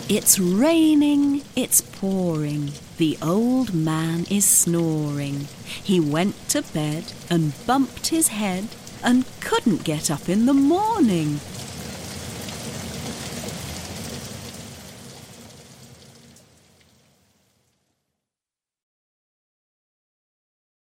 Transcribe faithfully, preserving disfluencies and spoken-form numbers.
It's raining, it's pouring, the old man is snoring. He went to bed and bumped his head and couldn't get up in the morning.